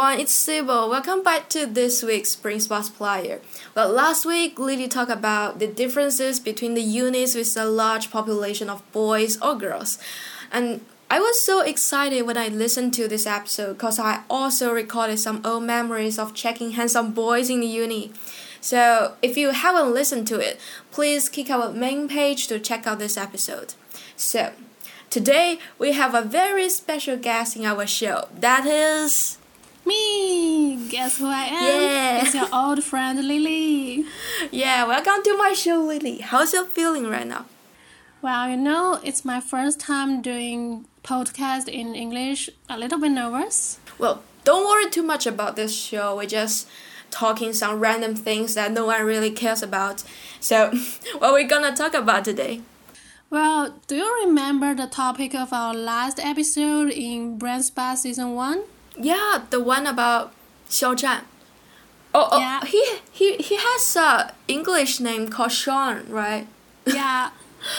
everyone, it's Sybil. Welcome back to this week's Spring Sports Player. Well, last week, Lily talked about the differences between the units with a large population of boys or girls. And I was so excited when I listened to this episode because I also recorded some old memories of checking handsome boys in the uni. So if you haven't listened to it, please click our main page to check out this episode. So today, we have a very special guest in our show. That is... me! Guess who I am? Yeah. It's your old friend Lily. Yeah, welcome to my show, Lily. How's you feeling right now? Well, it's my first time doing podcast in English. A little bit nervous. Well, don't worry too much about this show. We're just talking some random things that no one really cares about. So, what we're gonna talk about today? Well, do you remember the topic of our last episode in Brand Spa Season 1? Yeah, the one about Xiao Zhan. Oh, Yeah. he has a English name called Sean, right? Yeah.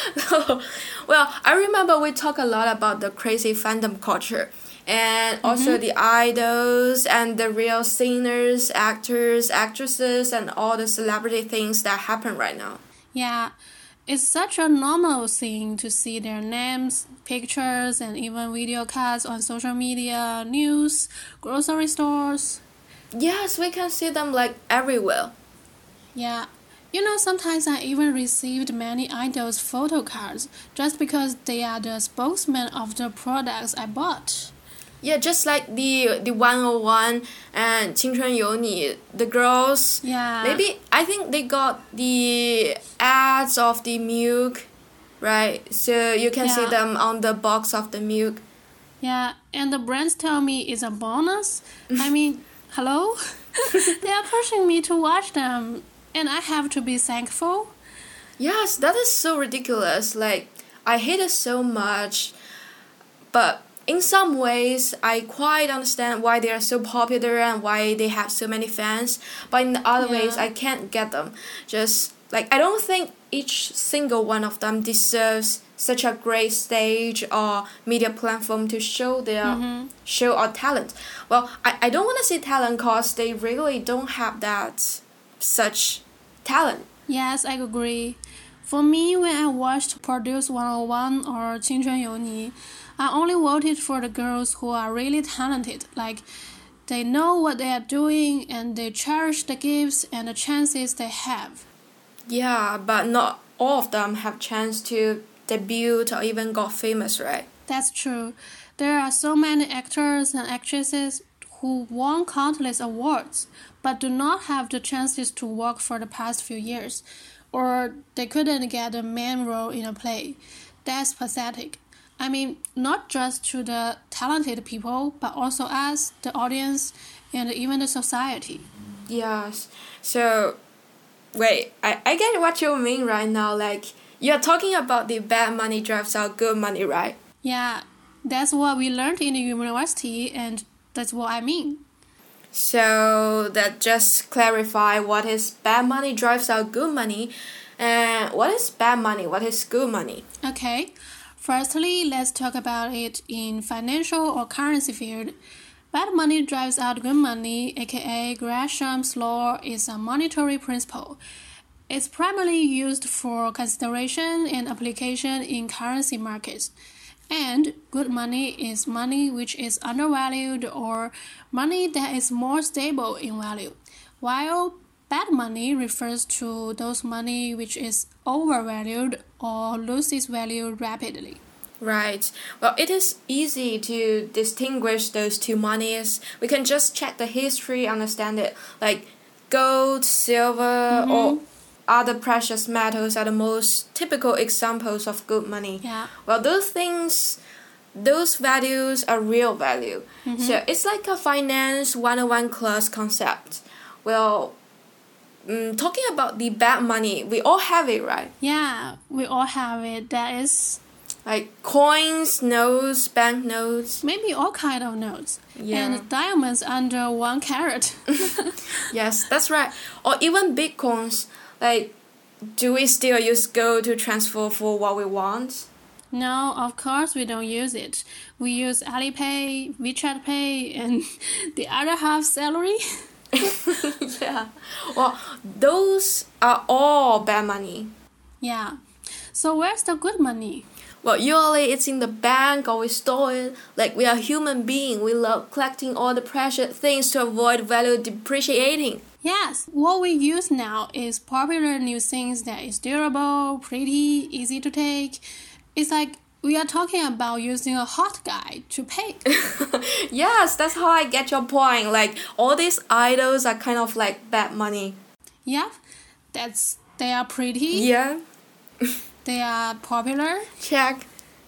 Well, I remember we talked a lot about the crazy fandom culture and also the idols and the real singers, actors, actresses, and all the celebrity things that happen right now. Yeah. It's such a normal thing to see their names, pictures, and even video cuts on social media, news, grocery stores. Yes, we can see them like everywhere. Yeah. Sometimes I even received many idols' photo cards just because they are the spokesman of the products I bought. Yeah, just like the 101 and 青春有你, the girls. Yeah. Maybe I think they got the ads of the milk, right? So you can see Yeah. them on the box of the milk. Yeah, and the brands tell me it's a bonus. I mean, hello? They are pushing me to watch them, and I have to be thankful. Yes, that is so ridiculous. Like, I hate it so much, but in some ways, I quite understand why they are so popular and why they have so many fans. But in the other ways, I can't get them. Just like I don't think each single one of them deserves such a great stage or media platform to show their show or talent. Well, I don't want to say talent because they really don't have that such talent. Yes, I agree. For me, when I watched Produce 101 or 青春有你, I only voted for the girls who are really talented. Like, they know what they are doing and they cherish the gifts and the chances they have. Yeah, but not all of them have chance to debut or even got famous, right? That's true. There are so many actors and actresses who won countless awards, but do not have the chances to work for the past few years, or they couldn't get a main role in a play. That's pathetic. I mean, not just to the talented people, but also us, the audience, and even the society. Yes. So, wait, I get what you mean right now. Like, you're talking about the bad money drives out good money, right? Yeah, that's what we learned in the university, and that's what I mean. So, that just clarify what is bad money drives out good money, and what is bad money, what is good money. Okay, firstly, let's talk about it in financial or currency field. Bad money drives out good money, aka Gresham's law, is a monetary principle. It's primarily used for consideration and application in currency markets. And good money is money which is undervalued or money that is more stable in value, while bad money refers to those money which is overvalued or loses value rapidly. Right. Well, it is easy to distinguish those two monies. We can just check the history, understand it. Like gold, silver, or other precious metals are the most typical examples of good money. Yeah. Well, those things, those values are real value. So it's like a finance 101 class concept. Well, talking about the bad money, we all have it, right? Yeah, we all have it. That is Like coins, notes, banknotes. maybe all kind of notes. Yeah. And diamonds under 1 carat. Yes, that's right. Or even bitcoins. Like, do we still use gold to transfer for what we want? No, of course we don't use it. We use Alipay, WeChat Pay, and the other half salary. Yeah. Well, those are all bad money. Yeah. So where's the good money? Well, usually it's in the bank or we store it. Like we are human beings, we love collecting all the precious things to avoid value depreciating. Yes, what we use now is popular new things that is durable, pretty, easy to take. It's like we are talking about using a hot guy to pay. Yes, that's how I get your point. Like all these idols are kind of like bad money. Yeah, they are pretty. Yeah. They are popular. Check.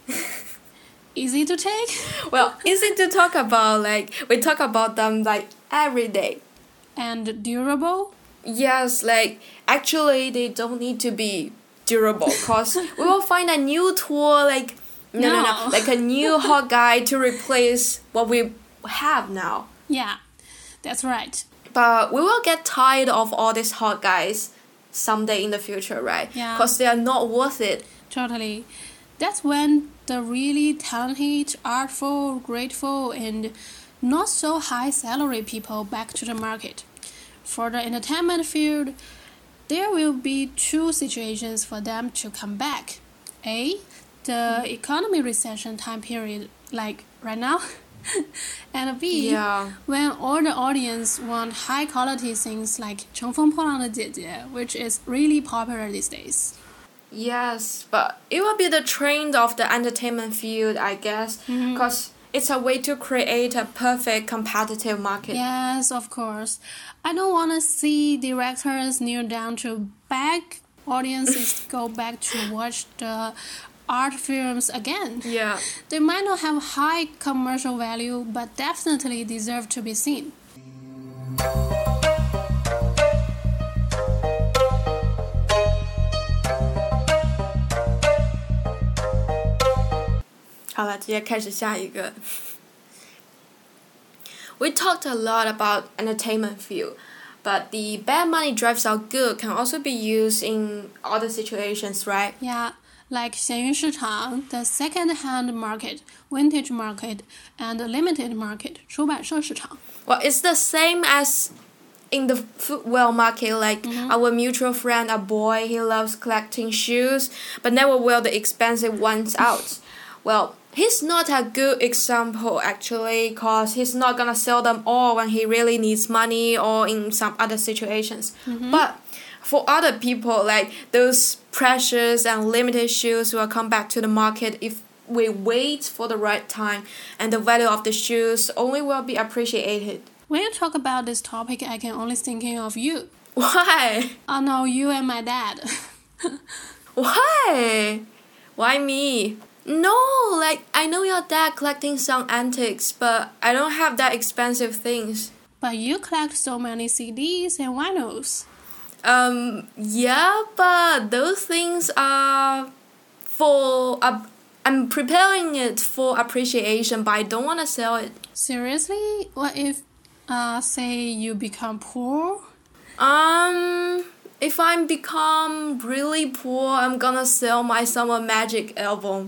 Easy to take. Well, easy to talk about. Like we talk about them like every day. And durable. Yes, like actually they don't need to be durable because we will find a new tool like no, like a new hot guy to replace what we have now. Yeah, that's right. But we will get tired of all these hot guys someday in the future, right? Yeah. Because they are not worth it. Totally. That's when the really talented, artful, grateful, and not so high salary people back to the market. For the entertainment field, there will be two situations for them to come back. A, the economy recession time period, like right now. And B, Yeah. when all the audience want high quality things like 乘风破浪的姐姐, which is really popular these days. Yes, but it will be the trend of the entertainment field, I guess, because it's a way to create a perfect competitive market. Yes, of course. I don't want to see directors kneel down to beg audiences go back to watch the art films again. Yeah. They might not have high commercial value, but definitely deserve to be seen. We talked a lot about entertainment field, but the bad money drives out good can also be used in other situations, right? Yeah, like 闲鱼市场, the second-hand market, vintage market, and limited market, 出版社市场. Well, it's the same as in the footwear market, like our mutual friend, a boy, he loves collecting shoes, but never wear the expensive ones out. Well, he's not a good example actually, because he's not gonna sell them all when he really needs money or in some other situations. But for other people, like those precious and limited shoes will come back to the market if we wait for the right time, and the value of the shoes only will be appreciated. When you talk about this topic, I can only thinking of you. Why? Oh no, you and my dad. Why? Why me? No, like I know your dad collecting some antiques, but I don't have that expensive things. But you collect so many CDs and vinyls. Yeah, but those things are for I'm preparing it for appreciation, but I don't want to sell it. Seriously? What if, say you become poor? If I become really poor, I'm gonna sell my Summer Magic album.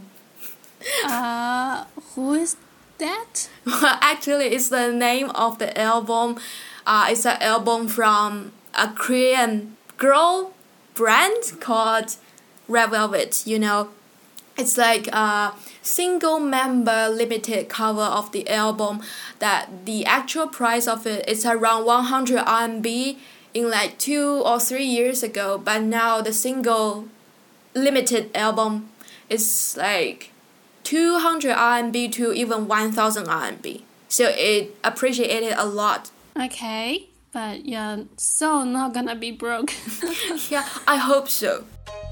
Who is that? Actually, it's the name of the album. It's an album from a Korean girl brand called Red Velvet, you know. It's like a single member limited cover of the album that the actual price of it is around 100 RMB in like 2 or 3 years ago, but now the single limited album is like 200 RMB to even 1000 RMB. So it appreciated a lot. Okay, but you're so not gonna be broke. Yeah, I hope so.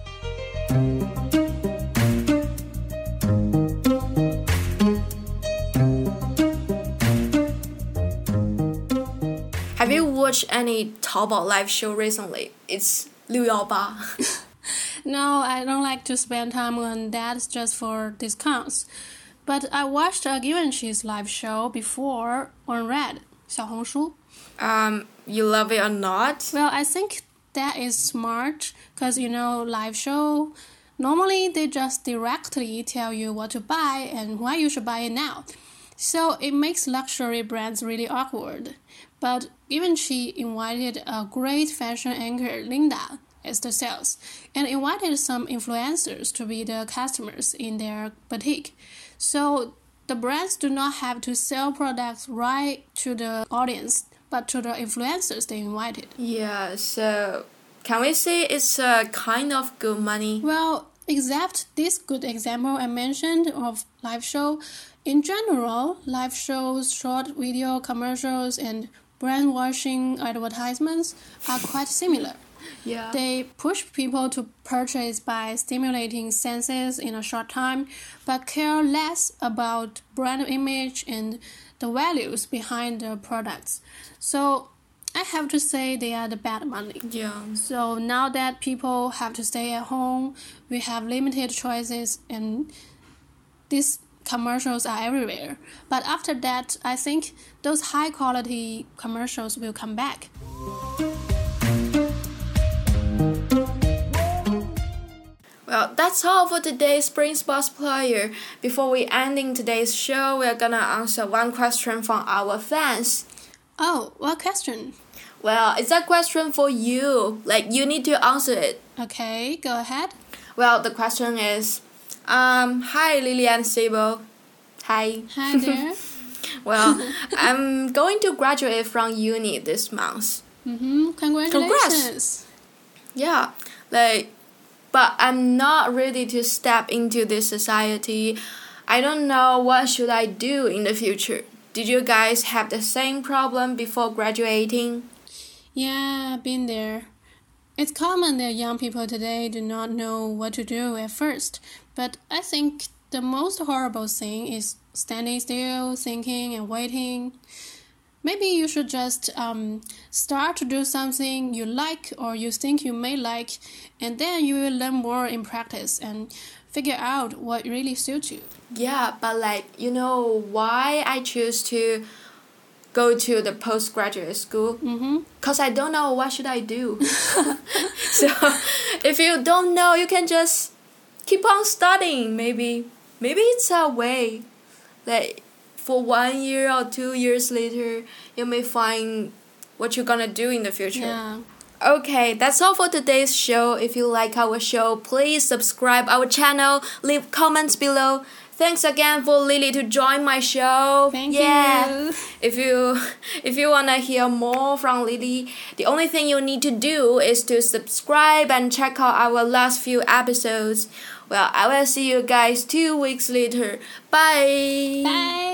Have you watched any Taobao live show recently? It's 618. No, I don't like to spend time on that just for discounts. But I watched a Givenchy's live show before on Red, 小红书. You love it or not? Well, I think that is smart because, you know, live show, Normally, they just directly tell you what to buy and why you should buy it now. So it makes luxury brands really awkward. But Givenchy invited a great fashion anchor, Linda, as the sales, and invited some influencers to be the customers in their boutique. So the brands do not have to sell products right to the audience, but to the influencers they invited. Yeah, so can we say it's a kind of good money? Well, except this good example I mentioned of live show, in general, live shows, short video commercials, and brand washing advertisements are quite similar. Yeah. They push people to purchase by stimulating senses in a short time, but care less about brand image and the values behind the products. So I have to say they are the bad money. Yeah. So now that people have to stay at home, we have limited choices and these commercials are everywhere. But after that, I think those high quality commercials will come back. Well, that's all for today's Spring Sports Player. Before we ending today's show, we're gonna answer one question from our fans. Oh, what question? Well, it's a question for you. Like, you need to answer it. Okay, go ahead. Well, the question is, hi Lily and Sable. Hi. Hi there. Well, I'm going to graduate from uni this month. Congratulations. Yeah, but I'm not ready to step into this society. I don't know what should I do in the future. Did you guys have the same problem before graduating? Yeah, I've been there. It's common that young people today do not know what to do at first, but I think the most horrible thing is standing still, thinking and waiting. Maybe you should just start to do something you like or you think you may like, and then you will learn more in practice and figure out what really suits you. Yeah, but you know why I choose to go to the postgraduate school? Because I don't know what should I do. So if you don't know, you can just keep on studying. Maybe it's a way. For 1 year or 2 years later, you may find what you're gonna do in the future. Yeah. Okay, that's all for today's show. If you like our show, please subscribe our channel, leave comments below. Thanks again for Lily to join my show. Thank you. If you wanna hear more from Lily, the only thing you need to do is to subscribe and check out our last few episodes. Well, I will see you guys 2 weeks later. Bye. Bye.